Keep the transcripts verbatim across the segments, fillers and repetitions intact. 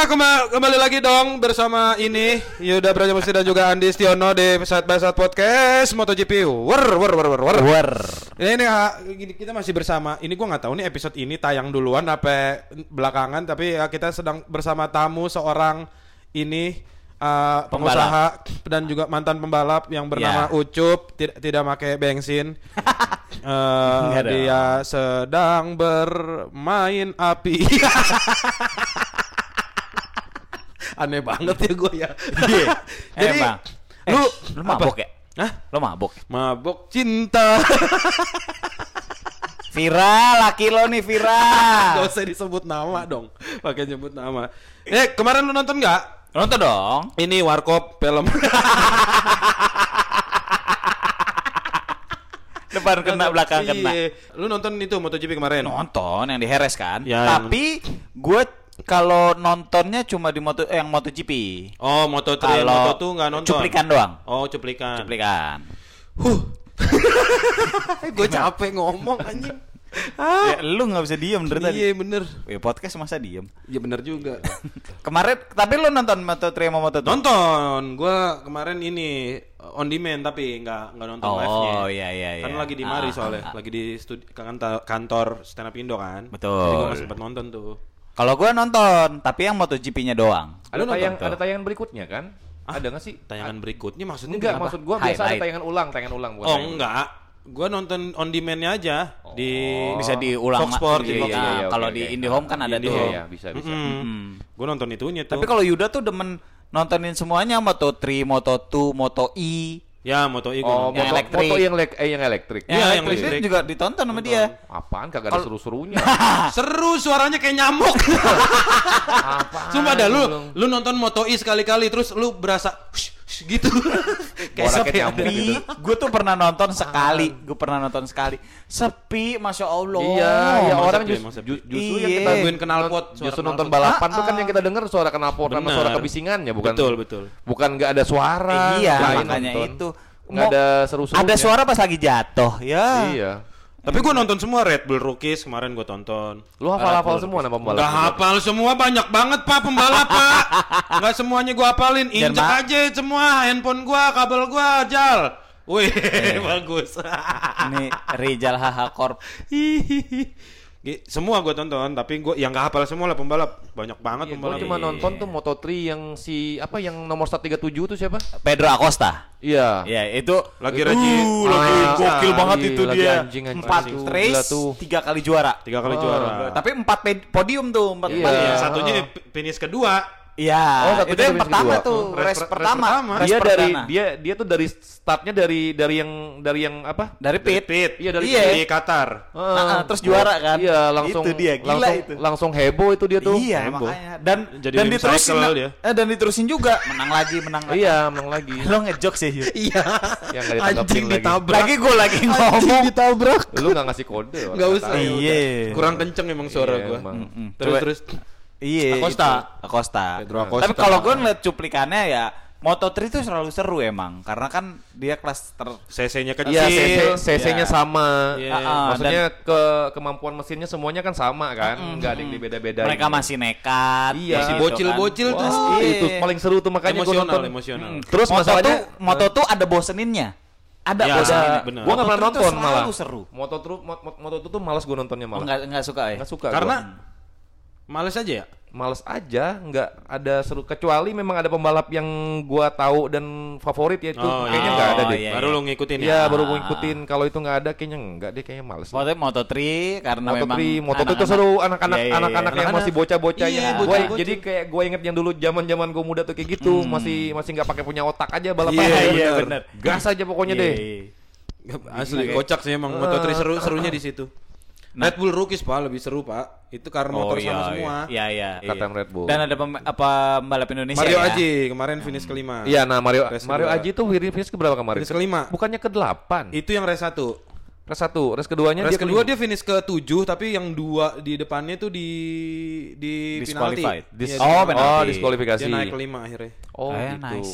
kembali, kembali lagi dong bersama ini Yuda Brajamusti dan juga Andi Stiono di Side by Side Podcast MotoGP. Wer wer wer wer wer. Wer. Ini kita masih bersama. Ini gua nggak tahu nih episode ini tayang duluan apa belakangan, tapi ya kita sedang bersama tamu seorang ini uh, pengusaha dan juga mantan pembalap yang bernama yeah. Ucup, tidak tidak pakai bensin. uh, dia sedang bermain api. Aneh banget ya gue ya. Yeah. Jadi eh, lu eh, lu mabok apa? ya? Hah? Lu mabok? Mabok cinta. Viral, laki lo nih viral. Gak usah disebut nama dong. Pakai nyebut nama. Eh, kemarin lu nonton nggak? Nonton dong. Ini Warkop film. Depan kena, belakang kena. Iya. Lu nonton itu MotoGP kemarin? Nonton yang di Heres kan? Ya, tapi gue kalau nontonnya cuma di moto eh, yang MotoGP. Oh, Moto tiga, Moto dua nggak nonton. Cuplikan doang. Oh, cuplikan. Cuplikan. Huh. Gue capek ngomong anjing. Ya, lu nggak bisa diem dari tadi. Iya bener. Ya, podcast masa diem. Iya bener juga. Kemarin, tapi lu nonton Moto tiga sama Moto dua? Nonton. Gue kemarin ini on demand tapi nggak nggak nonton oh, live-nya. Oh iya iya iya. Kan lagi di Mari ah, soalnya, ah, ah. lagi di studi- kantor, kantor stand up Indo kan. Betul. Jadi gue nggak sempet nonton tuh. Kalau gue nonton, tapi yang MotoGP-nya doang. Ada tayang, ada tayangan berikutnya kan? Ah, ada nggak sih? Tayangan berikutnya maksudnya enggak, apa? maksud gua biasa Highlight. ada tayangan ulang, tayangan ulang bukan. Oh tayangan. enggak. Gua nonton on demand-nya aja Oh. di Bisa diulang. Fox Sport, iya, di Fox iya, Sport. iya, oke, kalau oke. di IndiHome kan ada Di tuh. Iya, IndiHome. iya, bisa bisa. Mm-mm. Hmm. Gua nonton itunya tuh. Tapi kalau Yuda tuh demen nontonin semuanya Moto tiga, Moto dua, Moto E. ya Moto E Oh, gua yang moto, elektrik. moto yang lek eh yang elektrik. Iya, yang elektrik listrik. juga ditonton sama dia. Apaan kagak ada seru-serunya. seru suaranya kayak nyamuk. Apaan? Sumpah dah lu belum? lu nonton Moto E sekali-kali terus lu berasa hush, hush, gitu. Kayak Suara sepi. kayak nyamuk gitu. Gue tuh pernah nonton sekali, gue pernah nonton sekali. Sepi, masya Allah. Iya, iya emang orang sepi, just, emang sepi. ju- justru Iya. yang kita Tungguin knalpot, suara justru knalpot. nonton balapan Ah, tuh kan ah. yang kita dengar suara knalpot sama Benar. suara kebisingannya bukan. Betul, betul. Bukan nggak ada suara. Iya, lain makanya nonton. itu. Nggak Mau- ada seru-serunya. Ada suara pas lagi jatuh, ya. Iya. Tapi gua nonton semua Red Bull Rookies kemarin gua tonton. Lu hafal-hafal semua nama pembalap. Gak hafal semua, banyak banget pak pembalap pak. Gak semuanya gua hafalin, Dan injek ma- aja semua handphone gua, kabel gua, jal. Wih, bagus. Ini Rizal H H Corp. Gi- semua gua tonton, tapi gua yang gak hafal semua lah pembalap. Banyak banget Iya, pembalap. gua cuma nonton tuh Moto tiga yang si apa yang nomor seratus tiga puluh tujuh tuh siapa? Pedro Acosta. Iya. Ya, itu Lagi Raji. Uh, lagi Ah, gokil ah, banget iya, itu lagi dia. anjing, anjing. Empat Anjing. race, Gila tuh. tiga kali juara. Tiga kali Oh, juara. Tapi empat pe- podium tuh, empat Iya. empat. Iya, Iya. satunya p- finish kedua. Iya, Oh, satunya itu yang race pertama kedua. tuh, Hmm, race, race per- pertama. race pertama. Race Dia dari perdana. dia dia tuh dari startnya dari dari yang dari yang apa? dari pit. Pit. Iya, dari Iya. Di Qatar. Ah, ah, terus juara kan? Iya, langsung Itu dia, gila langsung, itu. langsung heboh itu dia tuh. Iya, Heboh. makanya. Dan Jadi dan wing diterusin cycle dia. eh dan diterusin juga, menang lagi, menang lagi. Iya, menang lagi. Lo ngejok sih. Yu. Iya. Yang enggak ditanggapin lagi. ditabrak. Lagi gue lagi Anjing ngomong. ditabrak. Lu enggak ngasih kode. orang Nggak nggak usah. tahu. ya Iya. udah. Kurang kenceng emang suara Iya, gua. emang. Mm-mm. Terus Coba- terus. Iya. Acosta. itu. Acosta. Pedro Acosta. Tapi kalau gue ngeliat cuplikannya ya Moto tiga itu selalu seru emang, karena kan dia kelas ter C C-nya kecil. Iya, C C-nya Iya. sama. Iya. Ah, ah, Maksudnya ke kemampuan mesinnya semuanya kan sama kan? Enggak ada yang dibeda-bedain. mereka masih nekat. Iya. Masih gitu bocil-bocil kan. tuh. Wah, Iya. itu paling seru tuh makanya gua Emosional, nonton. emosional. Mm. Terus Moto masalahnya tuh, Moto tuh ada boseninnya. Ada Ya, boseninnya. ada, bener. Gua enggak Moto pernah tiga tuh nonton malah. selalu seru. Moto tuh moto, moto tuh malas gua nontonnya Oh, malah. enggak enggak suka ya? Enggak suka Karena gua. males aja ya. Males aja, nggak ada seru kecuali memang ada pembalap yang gua tahu dan favorit ya itu Oh, kayaknya iya. nggak ada Oh, deh. iya. Baru lu ngikutin Iya ya. baru gua ngikutin. Kalau itu nggak ada kayaknya nggak deh kayaknya males. Moto Moto tiga karena Moto memang tiga, Moto tiga itu anak-anak- seru anak-anak Iya, iya, iya. anak-anak yang Anak-anak. masih bocah-bocah Iya, yang gua bocah-bocah. jadi kayak gua inget yang dulu zaman-zaman gua muda tuh kayak gitu Hmm. masih masih nggak pakai punya otak aja balapan. Iya, aja. iya, Bener. bener. Gas aja pokoknya Iya, deh. iya. Asli Oke. kocak sih emang Moto tiga seru serunya di situ. Nah. Red Bull Rookies pak lebih seru pak. Itu karena Oh, motor iya, sama semua. Iya, iya. Kata iya. Red Bull. Dan ada pem- apa pembalap Indonesia Mario ya? Aji kemarin finish kelima. Iya, nah Mario Race Mario kedua. Aji tuh finish ke berapa kemarin? Finish kelima. Bukannya ke delapan. Itu yang race satu. Race satu, race keduanya Race dia kedua kelima. dia finish ke tujuh, tapi yang dua di depannya tuh di di penalti. Disqualified. Iya, Dis- di oh, penalti. penalti. Oh, diskualifikasi. Dia naik kelima akhirnya. Oh, Eh, gitu. nice.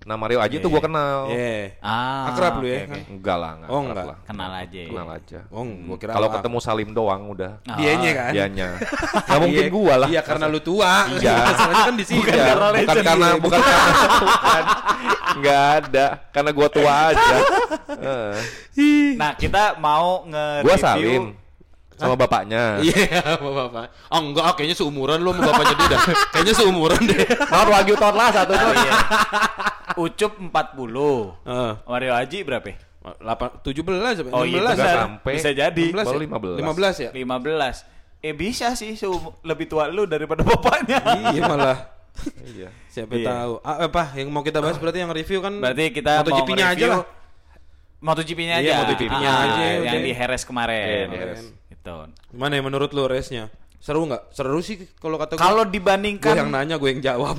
Nah Mario Aji tuh gue kenal. Iya. Ah, Akrab lu oke, ya? oke. Enggak lah, enggak Oh, akrab enggak. lah. Kenal aja. ya. Kenal aja. Oh, gua kira Kalau apa. ketemu Salim doang udah. Oh. Dianya kan? Dianya. Enggak mungkin gua lah. Iya, karena lu tua. Iya. Masalahnya kan di sini. Bukan karena bukan karena bukan karena bukan. Enggak ada, karena gua tua aja. Heeh. Nah, kita mau nge-review. Gua Salim sama bapaknya. Iya, sama bapak. Oh enggak, ah, kayaknya seumuran lu sama bapaknya dia dah. Kayaknya seumuran deh. Mawar Wagyu tahun lah satu tuh. Iya. Ucup empat puluh. Heeh. Mario Haji berapa? delapan tujuh belas Oh iya, enam belas benar. sampai. Bisa jadi. enam belas Baru ya? lima belas. lima belas ya? lima belas. Eh bisa sih seum- lebih tua lu daripada bapaknya. Iya malah. Iya. Siapa Iya. tahu. Ah, apa yang mau kita bahas berarti yang review kan? Berarti kita mau MotoGP-nya aja lah. MotoGP-nya aja. Iya, MotoGP-nya Ah, aja, yang udah. di Heres kemarin. Iya, di Heres. Gitu. Gimana ya menurut lu race-nya? Seru nggak? Seru sih kalau kata gue. Kalau Gue dibandingkan yang nanya, gue yang jawab.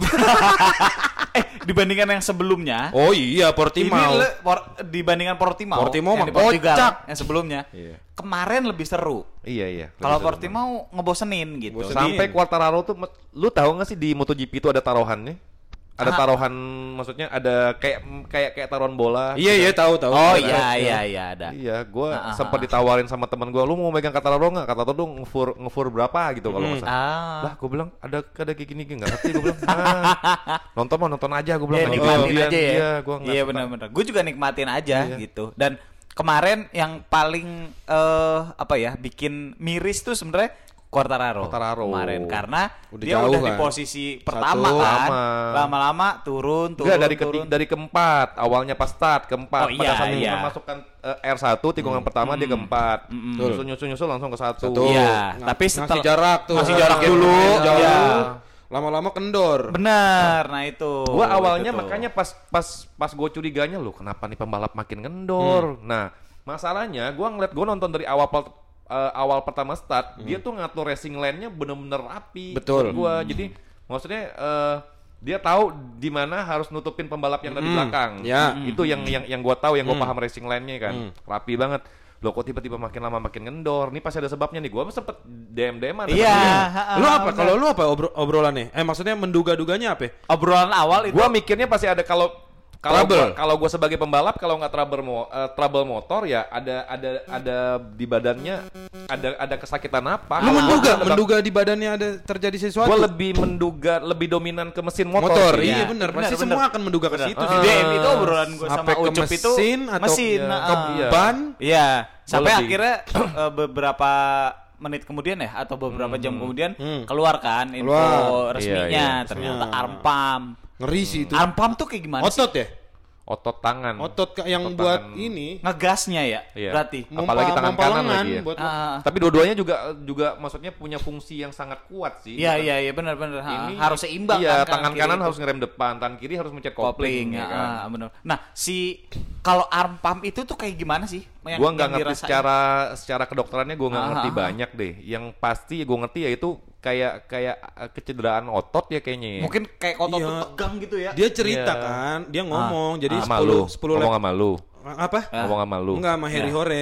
eh dibandingkan yang sebelumnya, Oh iya, ini Portimao. le- por- dibandingkan Portimao, Portimao yang mah di Portugal, kocak. yang sebelumnya. Iya. Kemarin lebih seru. Iya iya. Kalau Lebih seru. Portimao ngebosenin gitu. Bosenin. Sampai Quartararo tuh, lu tahu nggak sih di MotoGP itu ada taruhannya? Ada Ah. taruhan, maksudnya ada kayak kayak kayak taruhan bola. Iya iya tahu tahu. Oh Ada. iya iya iya ada. Iya, gue Ah, ah, sempat ah. ditawarin sama teman gue, lu mau megang Quartararo nggak? Kata tuh ngefur ngefur berapa gitu kalau nggak salah. Ah. Lah, gue bilang ada ada kayak gini gini nggak ngerti, gue bilang. Ah, nonton mah nonton aja, gue bilang. Ya, nggak nikmatin kemudian. aja ya. Iya, gue nggak Iya suka. benar-benar. Gue juga nikmatin aja Iya. gitu. Dan kemarin yang paling eh apa ya bikin miris tuh sebenarnya Quartararo. Quartararo. Kemarin karena Udah dia jauh udah di kan? posisi pertama Satu. kan. Lama. Lama-lama turun turun Enggak, dari turun. ketiga, dari keempat, awalnya pas start keempat. Oh, Pada iya, saat iya. memasukkan eh, R satu tikungan pertama dia keempat. Nyusul nyusul nyusul langsung ke satu. Satu. Iya, Ng- tapi ngasih setelah- jarak tuh. ngasih jarak Ngasih dulu. jauh. Iya. Lama-lama kendor. Benar. Nah itu. Gua awalnya Itu tuh. makanya pas pas pas gue curiganya loh, kenapa nih pembalap makin kendor. Hmm. Nah, masalahnya gua ngeliat gue nonton dari awal pel- eh, awal pertama start, dia tuh ngatur racing lane-nya bener-bener rapi. Hmm. Betul. Menurut Gua jadi maksudnya eh, dia tahu di mana harus nutupin pembalap yang dari Hmm. belakang. Ya. Itu yang yang yang gua tahu, yang gua Hmm. paham racing lane-nya kan. Hmm. Rapi banget. Loh kok tiba-tiba makin lama makin kendor. Ini pasti ada sebabnya nih. Gua sempet D M D M-an. Iya. Lu apa? benar. Kalau lu apa obro- obrolannya? Eh maksudnya menduga-duganya apa? Obrolan awal itu. Gua mikirnya pasti ada kalau kalau Trouble. gua, kalau gua sebagai pembalap kalau nggak trouble mo, eh, trouble motor ya ada ada ada di badannya ada ada kesakitan apa? Lu Kalau menduga, gua- menduga di badannya ada terjadi sesuatu. Gua lebih menduga lebih dominan ke mesin motor. motor. sih. Iya Iya, benar. benar, Pasti benar. semua akan menduga ke Benar. situ Ah. sih. D M itu obrolan gue sama Sampai ke Ucup itu mesin atau mesin, iya, nah, ke iya. ban. Iya, sampai lebih- akhirnya eh, beberapa menit kemudian ya atau beberapa jam kemudian Hmm. keluar kan info Keluar. resminya Iya, iya. ternyata Iya. armpam. Ngeri sih itu. Armpam tuh kayak gimana sih? Otot ya? Otot tangan. Otot ka- yang Otot buat tangan. ini Ngegasnya ya, Iya. berarti. Mom- Apalagi tangan mompa kanan lengan lagi ya. buat Ah, Tapi dua-duanya juga juga maksudnya punya fungsi yang sangat kuat sih. Iya Bukan- iya iya benar-benar Ha, Ini harus seimbang Iya, kan, tangan kiri kanan itu. harus ngerem depan, tangan kiri harus mencet kopling kopling, ya, ya kan. ah, benar. Nah, si kalau arm pump itu tuh kayak gimana sih? Yang- Gua nggak yang ngerti dirasain? secara secara kedokterannya gua nggak Ah, ngerti ah, ah. banyak deh. Yang pasti gua ngerti ya itu kayak kayak uh, kecederaan otot ya kayaknya. ya. Mungkin kayak otot Iya. tuh tegang gitu ya. dia cerita Iya. kan, dia ngomong jadi sama sepuluh lu, sepuluh ngomong lap sama lu, apa? ngomong sama lu. Enggak sama Harry Ya. Hore.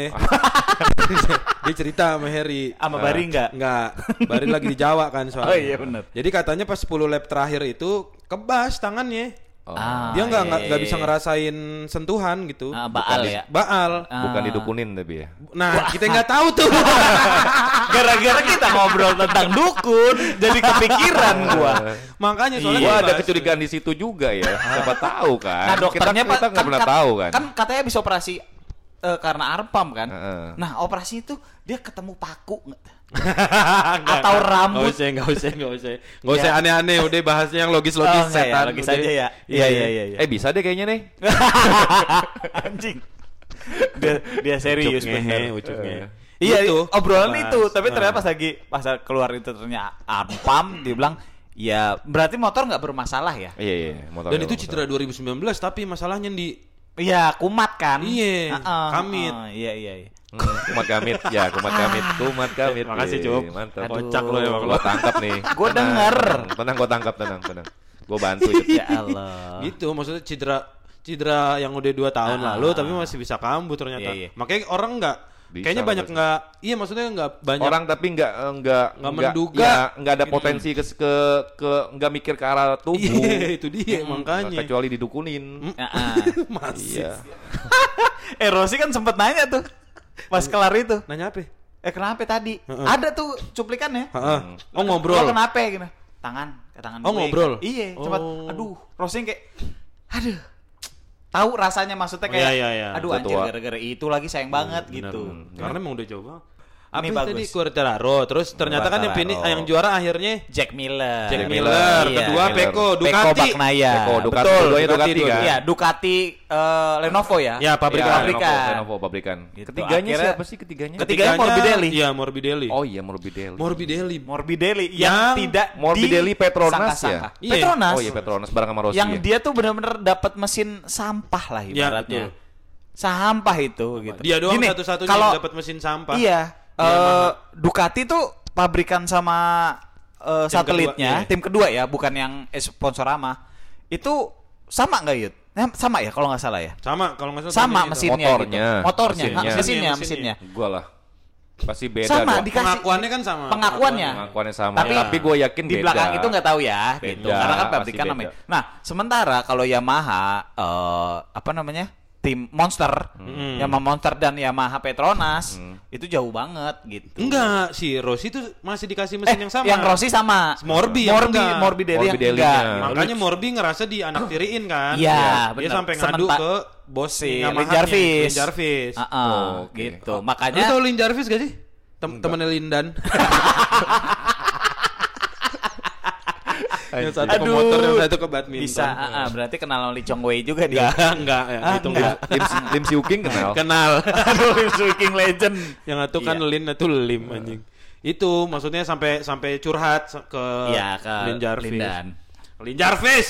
Dia cerita sama Harry. Sama Bari enggak? Enggak, Bari lagi di Jawa kan soalnya. Oh iya, bener. Jadi katanya pas sepuluh lap terakhir itu kebas tangannya. Oh. Ah, Dia nggak iya, nggak nggak iya, bisa iya. ngerasain sentuhan gitu. Ah, baal ya. Baal. Ah. Bukan didukunin tapi ya. Nah, kita nggak tahu tuh. Gara-gara kita ngobrol tentang dukun, jadi kepikiran gua. Makanya soalnya Gua ada bebas. kecurigaan di situ juga ya. Siapa tahu kan. Nah, dokternya kita, Pak kita nggak pernah tahu kan. Kan katanya bisa operasi eh, karena armpam kan. Heeh. Nah, operasi itu dia ketemu paku nggak? Atau rambut. Nggak usah, nggak usah, nggak usah. Nggak usah Ya. aneh-aneh, udah bahasnya yang logis-logis Oh, enggak ya, setan. logis udah. aja ya. Iya, iya, iya, iya. Eh bisa deh kayaknya nih. Anjing. Dia dia serius Ucuk ngehe, bener. ucuk ngehe. Iya, Gitu. obrolan Mas. itu, tapi Nah. ternyata pas lagi pas keluar itu ternyata armpam, dia bilang, "Ya, berarti motor nggak bermasalah ya?" Iya iya. motor Dan nggak itu motor. cedera dua ribu sembilan belas tapi masalahnya di Iya, kumat kan? Iya, Heeh, kamit. heeh, Iya, iya, iya. Hmm, kumat kamit, ya kumat kamit, kumat kamit. Makasih, Iya, Cup. Mantap. Aduh. Kocak lo emang lo. Gua tangkap nih. Gua Tenang, denger. Tenang, tenang gua tangkap, tenang, tenang. Gua bantu Cup. Ya Allah. Gitu, maksudnya cedera cedera yang udah dua tahun Ah. lalu tapi masih bisa kambuh ternyata. Iya, iya. Makanya orang nggak Bisa kayaknya lah, banyak bisa. nggak, iya maksudnya nggak banyak orang tapi nggak nggak Nggak menduga. ya, nggak ada Gitu. potensi ke ke ke nggak mikir ke arah tubuh. Iya, itu dia Hmm, makanya. kecuali didukunin. Heeh. Masih. Iya. Eh Rossi kan sempet nanya tuh pas kelar itu. Nanya apa? Eh kenapa tadi? Ada tuh cuplikannya. Heeh. Oh Lo ngobrol. kenapa gitu? Tangan, ke tangan Oh, gue. ngobrol? Iya, Oh. cepat. Aduh, Rossi kayak aduh. Tahu rasanya maksudnya kayak Iya, iya, iya. aduh Udah anjir tua. gara-gara itu lagi sayang banget Benar, gitu. benar. Karena emang udah jauh banget. Apa Ini yang bagus. tadi Quartararo, terus ternyata kan yang finish, Quartararo. yang juara akhirnya Jack Miller. Jack Jack Miller, Miller. kedua Iya. Peko, Peko Ducati. Bagnaia. Peko, Ducati, Betul, dua-duanya Ducati, Ducati, dua-duanya. kan? Iya, Ducati eh, Lenovo ya. Ya, pabrikan. Iya, Pabrikan. Lenovo, Lenovo pabrikan. Gitu. Ketiganya Akhirnya- siapa sih ketiganya? Ketiganya Morbidelli. Iya, Morbidelli. Oh iya Morbidelli. Morbidelli. Morbidelli yang, Yang tidak Morbidelli Petronas disangka-sangka. ya? Iya. Petronas. Oh iya Petronas bareng sama Rossi. Yang ya? dia tuh benar-benar dapat mesin sampah lah Ya, ibaratnya. betul. Sampah itu gitu. Dia doang Gini, satu-satunya kalau- yang dapat mesin sampah. Iya. eh, Ducati tuh pabrikan sama eh, Tim satelitnya, kedua, iya. tim kedua ya, bukan yang eh, sponsorama. Itu sama nggak Yud? Eh, sama ya kalau nggak salah ya. Sama kalau nggak salah Sama itu. mesinnya Motornya, gitu. Motornya, mesinnya. mesinnya, mesinnya, Mesinnya, mesinnya. Gua lah. Pasti beda Sama, dong. dikasih Pengakuannya kan sama. pengakuannya. Pengakuannya sama. Tapi, Tapi gue yakin di beda. belakang itu nggak tahu ya, Beda, gitu. Karena kan pasti pabrikan beda. namanya. Nah, sementara kalau Yamaha, eh, apa namanya, tim Monster, Hmm. Yamaha Monster dan Yamaha Petronas, itu jauh banget gitu. Enggak, si Rossi tuh masih dikasih mesin Eh, yang sama. Yang Rossi sama. Morbi yang Morbi, enggak. Morbidelli yang Morbidellinya. enggak. gitu. Makanya Morbi ngerasa dianaktiriin kan. Iya, Dia benar. sampai ngadu Sementa- ke bos si Yamaha-nya, Lin Jarvis. Lin Jarvis. Ah, ah, Oh, oke. gitu. Lu Makanya tau Lin Jarvis gak sih? Tem temennya Lindan. yang satu ke Aduh. motor, yang satu ke badminton. bisa, ah, ah, berarti kenal sama Lee Chong Wei juga dia. Enggak, enggak, ya, Ah, itu enggak. enggak. Lim, Lim Siu King kenal. Kenal. Aduh, King Legend. Yang satu kan Iya. Lin, itu Lim anjing. Itu maksudnya sampai sampai curhat se- ke Iya, ke Lin Jarvis. Lindan. Lin Jarvis.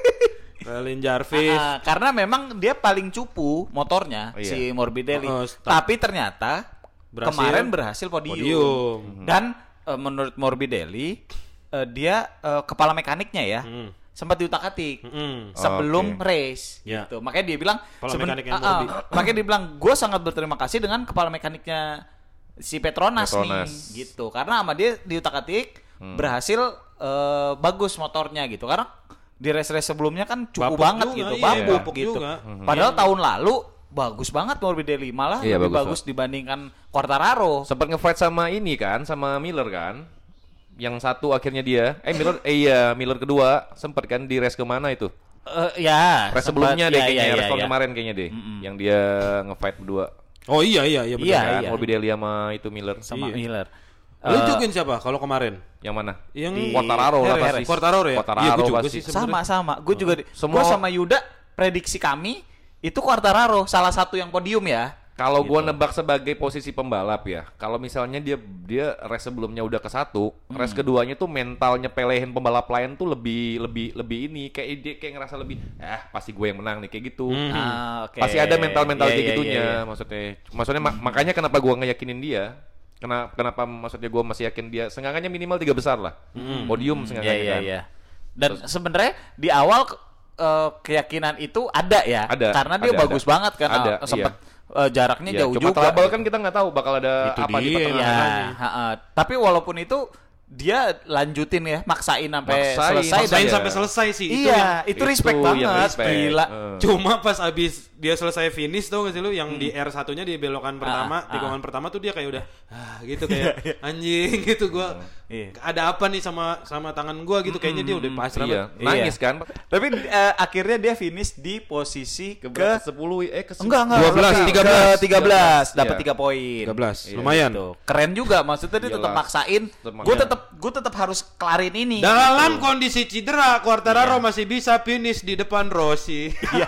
ke Lin Jarvis. Ah, ah, karena memang dia paling cupu motornya Oh, iya. si Morbidelli. Oh, stop. Tapi ternyata Berhasil. kemarin berhasil podium. Podium. Dan eh, menurut Morbidelli eh, dia eh, kepala mekaniknya ya Hmm. sempat diutak-atik Mm-mm. sebelum Oke. race. Ya. Gitu. Makanya dia bilang Kepala seben- mekaniknya ah, ah, Morbi. makanya dia bilang gue sangat berterima kasih dengan kepala mekaniknya si Petronas, Petronas. nih gitu. Karena sama dia diutak-atik Hmm. berhasil eh, bagus motornya gitu. Karena di race-race sebelumnya kan cukup Bapuk banget juga, gitu, iya, bapuk bapuk gitu. juga. Padahal tahun lalu bagus banget Morbidelli, malah Iya, lebih bagus, bagus, dibandingkan Quartararo. Sempat nge-fight sama ini kan, sama Miller kan. Yang satu akhirnya dia, eh Miller, eh iya Miller kedua sempat kan di race kemana itu? Eh, ya, Race sempat- sebelumnya deh ya, kayaknya, ya, race ya, tahun ya. kemarin kayaknya deh, yang dia nge-fight berdua. Oh iya iya iya benar. Iya, kan? iya. Morbidelli sama itu Miller. Sama Iya. Miller. Lu Eh, jukin siapa kalau kemarin? Yang mana? Yang Di- Quartararo lah Heres. pasti. Quartararo ya? Quartararo Iya, gua juga pasti. sih sebenarnya. sama-sama. Gue juga di, Semua- gua sama Yuda prediksi kami itu Quartararo salah satu yang podium ya. Kalau gua Gitu. nebak sebagai posisi pembalap ya, kalau misalnya dia dia race sebelumnya udah ke satu, Hmm. race keduanya tuh mentalnya pelehin pembalap lain tuh lebih lebih lebih ini kayak dia kayak ngerasa lebih, eh pasti gue yang menang nih kayak gitu. Ah, oke. Pasti ada mental-mental Iya, kayak iya, gitunya, iya, iya. maksudnya. Maksudnya ma- makanya kenapa gua ngeyakinin dia? Kenapa kenapa maksudnya gua masih yakin dia seenggaknya minimal tiga besar lah. Podium Iya, seenggaknya iya, kan. iya. Dan sebenarnya di awal eh, keyakinan itu ada ya, Ada, karena dia ada, bagus ada. banget kan, Ada, eh, sempat iya. eh, jaraknya Iya, jauh cuma juga. trouble kan kita nggak tahu bakal ada Itu apa di dia, pertengahan. Iya, ha-ha. Tapi walaupun itu dia lanjutin ya, maksain sampai Maksain, selesai. Maksain Iya. sampai selesai sih. Itu Iya, yang- itu respect itu yang banget, respect. gila. Eh. Cuma pas abis dia selesai finish tuh gak sih lu yang di R satunya di belokan pertama, ah, tikungan pertama tuh dia kayak udah ah gitu kayak anjing gitu gua. Iya. Ada apa nih sama sama tangan gua gitu kayaknya dia udah pasrah. Iya, banget. nangis kan? Tapi eh, akhirnya dia finish di posisi ke, Ke sepuluh eh ke enggak enggak dua belas, lebih, tiga belas. ke tiga belas dapat Iya. tiga poin. tiga belas. Iya, Lumayan. Gitu. Keren juga maksudnya dia tetap Iyalah. maksain. Tetep Gue maksain. tetap gue tetap harus kelarin ini. Dalam kondisi cedera, Quartararo Iya. masih bisa finish di depan Rossi. Iya.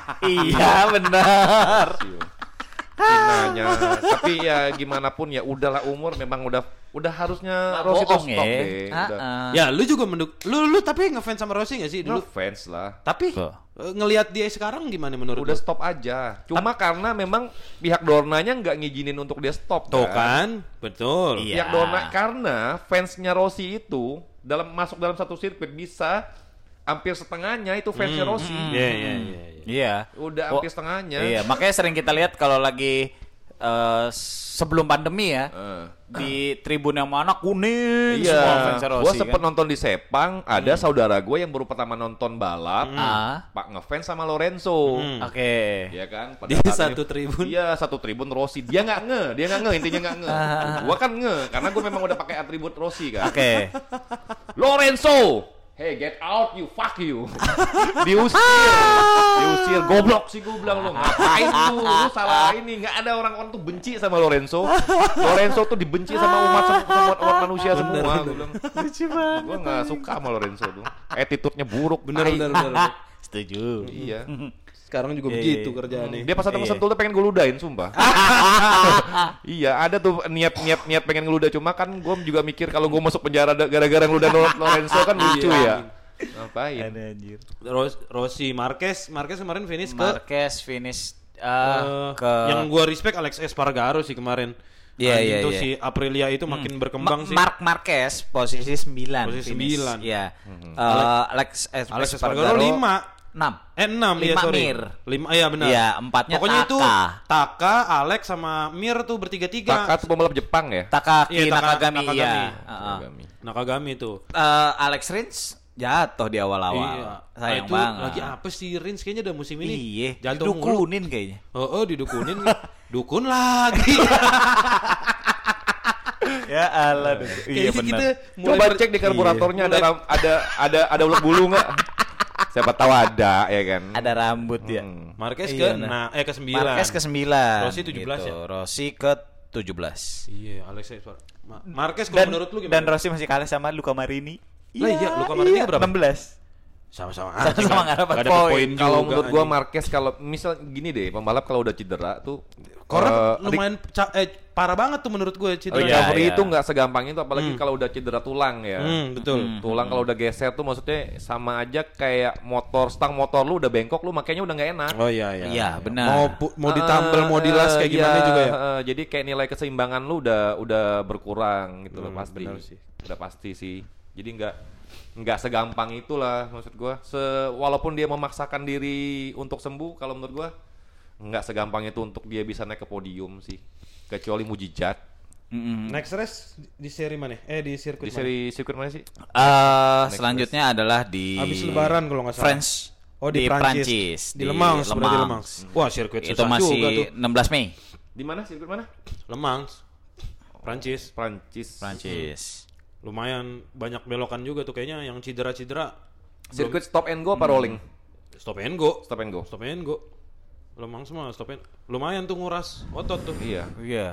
Iya benar. Finanya. Tapi ya gimana pun ya udahlah umur memang udah udah harusnya Nggak Rossi tuh bohong stop ya. deh. Udah. Ah-ah. Ya, lu juga menduk lu lu tapi ngefans sama Rossi gak sih Dulu dulu? fans lah. Tapi Tuh. eh, ngelihat dia sekarang gimana menurut Udah lu? stop aja. Cuma karena memang pihak Dornanya nggak ngizinin untuk dia stop Tuh kan, betul. Iya. Pihak Dorna karena fansnya Rossi itu dalam masuk dalam satu sirkuit bisa hampir setengahnya itu fansnya Rossi. Iya, iya, iya. iya. Iya. Udah Oh, hampir setengahnya. Iya, makanya sering kita lihat kalau lagi uh, sebelum pandemi ya. Uh. Di tribun yang mana kuning Iya, semua fans Rossi. Gue sempet kan? nonton di Sepang, ada hmm. saudara gue yang baru pertama nonton balap, hmm. Pak ngefans sama Lorenzo, hmm. oke, okay. ya kan? Pada di saat satu ini, tribun, iya satu tribun Rossi, dia nggak nge, dia nggak nge, intinya nggak nge. Gue kan nge, karena gue memang udah pakai atribut Rossi kan. Oke, okay. Lorenzo, hey get out you, fuck you, diusir, diusir, goblok sih gue bilang lo, ngapain lu, lu salah ini, nggak ada orang-orang tuh benci sama Lorenzo, Lorenzo tuh dibenci sama umat sama umat manusia semua, gue bilang, gue nggak suka sama Lorenzo tuh, attitude-nya buruk, bener bener bener, setuju, iya. Sekarang juga begitu kerjaannya. Dia pas ada sentul tuh pengen gue ludahin, sumpah. Iya, ada tuh niat-niat niat pengen ngeludah, cuma kan gue juga mikir kalau gue masuk penjara gara-gara ngeludah Lorenzo kan lucu ya. Ngapain? Ada anjir. Ros- Rossi, Marquez, Marquez kemarin finish ke Marquez finish uh, uh, ke yang gue respect Alex Espargaro sih kemarin. Iya, Anjing iya, tuh iya. si Aprilia itu makin berkembang Ma- sih. Mark Marquez posisi sembilan. Posisi finish. sembilan. Iya. Uh, Alex Es- Alex Espargaro Espargaro lima. enam. Eh enam ya Lima sorry. Mir. Lima iya benar. Iya, empatnya Pokoknya Taka. itu Taka, Alex sama Mir tuh bertiga-tiga. Taka tuh pembalap Jepang ya? Takaki Iya, Taka- Nakagami, Nakagami. iya. Nakagami. Nakagami tuh. Uh, Alex Rins jatuh di awal-awal. Iya. Sayang Ah, itu banget. lagi apa sih Rins kayaknya udah musim ini. Iya, Jatuh mulu. didukunin kayaknya. Oh, oh didukunin. Dukun lagi. Ya Allah. Kayaknya kita mulai Coba ber- cek di karburatornya Iya, ada ram- ada ada ada ulet bulu nggak? Siapa tahu ada ya kan. Ada rambut ya. Hmm. Marquez Iya, ke nah. nah eh ke sembilan. Marquez ke sembilan. Rossi tujuh belas ya? Rossi ke tujuh belas. Iya, Alex Espargaro. Ma- Marquez kalau Dan, menurut lu gimana? dan Rossi masih kalah sama Luca Marini. Lah iya, Luca Marini berapa? enam belas. Sama-sama Sama-sama nggak dapat poin. Kalau juga, menurut gua anjing. Marquez kalau misal gini deh, pembalap kalau udah cedera tuh Korang eh, lumayan ca- eh, parah banget tuh menurut gue cedera. iya, recovery iya. itu nggak segampang itu, apalagi Hmm. kalau udah cedera tulang ya. Hmm, betul. Hmm. Tulang kalau udah geser tuh maksudnya sama aja kayak motor, stang motor lu udah bengkok, lu makanya udah nggak enak. Oh iya iya. Iya, benar. Mau pu- mau ditambal, Eh, mau dilas kayak eh, gimana iya, juga ya. eh, jadi kayak nilai keseimbangan lu udah udah berkurang gitu loh Hmm, pasti. benar sih. Udah pasti sih. Jadi nggak nggak segampang itulah maksud gua. Se walaupun dia memaksakan diri untuk sembuh, kalau menurut gua nggak segampang itu untuk dia bisa naik ke podium sih. Kecuali mujizat. Mm-mm. Next race di seri mana? Eh di sirkuit Di seri sirkuit mana sih? Eh, selanjutnya adalah di mana? Habis lebaran kalau nggak salah. France. Oh di, Prancis. Di, Le Mans, berarti Le Mans. Wah, sirkuit Itu susah juga tuh. masih enam belas Mei. Di mana sirkuit mana? Le Mans. Prancis. Prancis. Prancis. Lumayan banyak belokan juga tuh kayaknya yang cedera-cedera. Sirkuit stop and go apa rolling? Stop and go. Stop and go. Stop and go. Le Mans semua stop and lumayan tuh nguras otot tuh. Iya. Iya.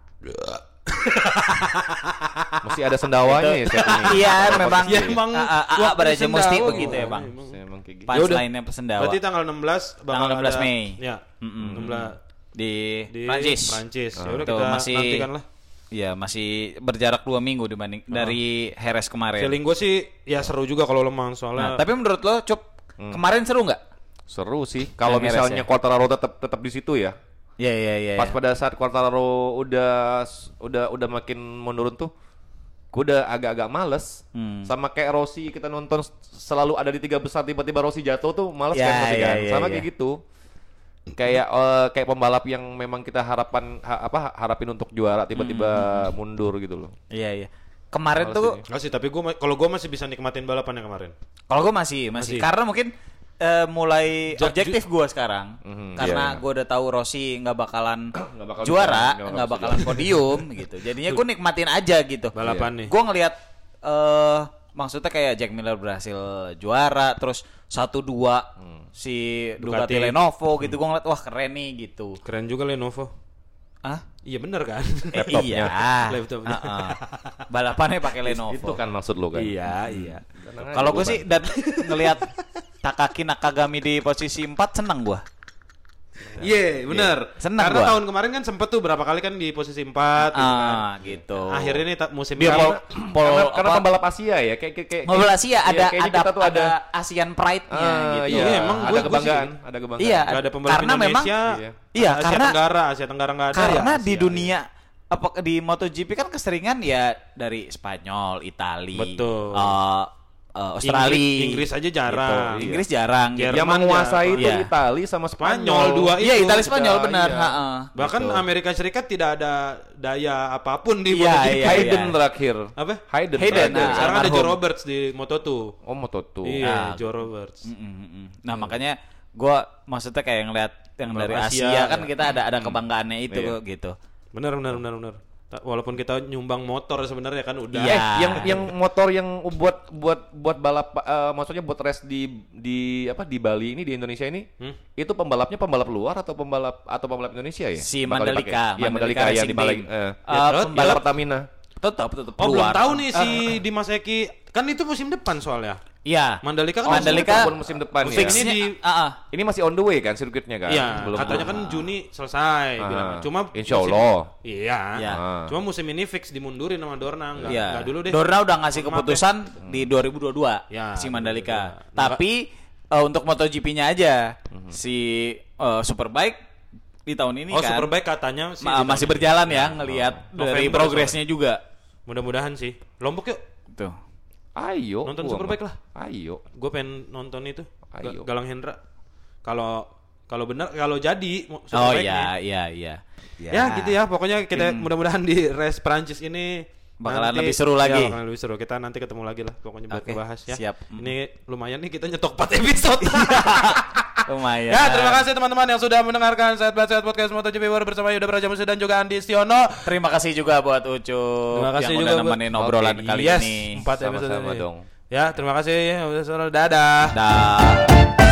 Masih ada sendawanya ya set ini. Iya, memang. Ya, emang A- a- a- waktu beraja sendawa mesti gitu. begitu ya, Bang. Emang. Emang kayak gitu. Yaudah. Punchline-nya pesendawa. Berarti tanggal enam belas bakal Tanggal enam belas ada- Mei. Ya. Mm-mm. enam belas Di, di Prancis. Prancis. Ya udah Tuh, kita masih nantikan lah. Iya, masih berjarak dua minggu dibanding dari Jerez kemarin. Feeling gue sih ya seru juga kalau Le Mans Nah, soalnya. tapi menurut lo, Cup, kemarin seru nggak? Seru sih. Kalau Yang misalnya Heres ya? Quartararo tetap tetap di situ ya. Iya, iya, iya. Pas pada saat Quartararo udah udah udah makin menurun tuh, gue udah agak-agak males. Hmm. Sama kayak Rossi, kita nonton selalu ada di tiga besar, tiba-tiba Rossi jatuh tuh males Ya, kan pasti ya, kan. ya, Sama ya. kayak gitu. Kayak eh, kayak pembalap yang memang kita harapan ha- apa harapin untuk juara tiba-tiba mundur gitu loh. Iya, iya. Kemarin Males tuh, ini. Nggak sih, tapi gue kalau gue masih bisa nikmatin balapannya kemarin. kalau gue masih, masih, Masih. karena mungkin eh, mulai Ja- objektif gue sekarang, Mhm, karena iya. gue udah tahu Rossi nggak bakalan Nggak bakal juara, bisa, nggak nggak bakal bakalan podium gitu. Jadinya gue nikmatin aja gitu. Balapan nih. Gue ngelihat, eh maksudnya kayak Jack Miller berhasil juara, terus satu dua si Ducati, Ducati. Lenovo gitu, gue ngeliat wah keren nih gitu. Keren juga Lenovo. Ah? Iya bener kan? Eh, Laptopnya. iya. Laptopnya. Heeh. Balapannya pakai Lenovo. Itu kan maksud lo kan. Iya, iya. Tenang aja, Kalau gue gua sih dan ngelihat Takaki Nakagami di posisi empat senang gue. Iya, bener. Senang Karena gua. tahun kemarin kan sempet tuh berapa kali kan di posisi empat gitu kan. Ah, gitu. Akhirnya nih ta- musim Dia ini pol, pol, karena, karena apa, pembalap Asia ya, kayak kayak kayak. ngobrol Asia iya, ada kayaknya ada kita tuh ada Asian Pride-nya Ah, gitu. iya, Iya, emang ada gua- gua kebanggaan, sih- ada kebanggaan. Iya, Gak ada pembalap karena memang Indonesia. Iya. iya, Asia karena Tenggara, Asia Tenggara nggak ada. karena ya, di Asia, dunia apa di MotoGP kan keseringan ya dari Spanyol, Itali, Betul. eh, uh, Australia. Inggris, Inggris aja jarang. Gitu. Inggris jarang. Jerman Gitu. Yang menguasai ya. itu Iya. Italia sama Spanyol Spanyol. dua Iya, itu. Italia Spanyol Iya, benar. iya. Ha-ha. Bahkan Gitu. Amerika Serikat tidak ada daya apapun di Iya, MotoGP. iya, Hayden iya. terakhir. Apa? Hayden. Hayden, terakhir. nah. Sekarang ada almarhum. Joe Roberts di Moto dua. Oh, Moto dua. Iya, Ah. Joe Roberts. Mm, mm, mm. Nah, makanya gua maksudnya kayak ngeliat yang Ngeliat dari Asia, Asia, kan ya. kita ada ada kebanggaannya itu Iya. gitu. Benar benar benar benar. Ta- Walaupun kita nyumbang motor sebenarnya kan udah. Iya. Eh, yang yang motor yang buat buat buat balap eh, maksudnya buat race di di apa di Bali ini di Indonesia ini Hmm? itu pembalapnya pembalap luar atau pembalap atau pembalap Indonesia ya? Si Bakal Mandalika, dipakai? Iya, Mandalika Mandalika yang Racing di Bali. Team. Eh, Uh, yang pembalap- Pertamina. Tetap tetap Oh, belum keluar. tahu nih si Dimas Eki. Kan itu musim depan soalnya. Iya. Mandalika kan Mandalika Walaupun musim depan ya. fixnya Ini di- ah, ah. Ini masih on the way kan sirkuitnya kan? Iya, Belum katanya kan Juni selesai Ah, bilang. Cuma insya musim- Allah. Iya. Iya. Ah. Cuma musim ini fix dimundurin sama Dorna, enggak, Iya. enggak dulu deh. Dorna udah ngasih Maaf keputusan di dua ribu dua puluh dua Ya, si Mandalika. dua ribu dua puluh dua. Tapi eh, untuk MotoGP-nya aja si eh, Superbike di tahun ini Oh, kan Superbike katanya sih ma- di masih tahun berjalan ini. ya ngelihat dari November progresnya juga. Mudah-mudahan sih. Lombok yuk. Tuh. Ayo. Nonton gua Superbike mah. lah. Ayo. Gue pengen nonton itu. Ga- Ayo. Galang Hendra. Kalau kalau benar kalau jadi Oh Superbike-nya. iya iya iya. Ya, gitu ya. Pokoknya kita mudah-mudahan di race Prancis ini Bakalan nanti- lebih seru lagi. Ya, bakalan lebih seru. Kita nanti ketemu lagi lah pokoknya buat Oke, ngebahas ya. siap. Ini lumayan nih kita nyetok empat episode. Lumayan. Ya, terima kasih teman-teman yang sudah mendengarkan Sehat Belat Sehat Podcast MotoGP World bersama Yuda Braja Musi dan juga Andi Stiono. Terima kasih juga buat Ucup Terima kasih yang juga udah buat- nemenin obrolan Oke, kali yes, ini. empat episode Sama-sama ini. dong. Ya, terima kasih. Udah, dadah. Dah.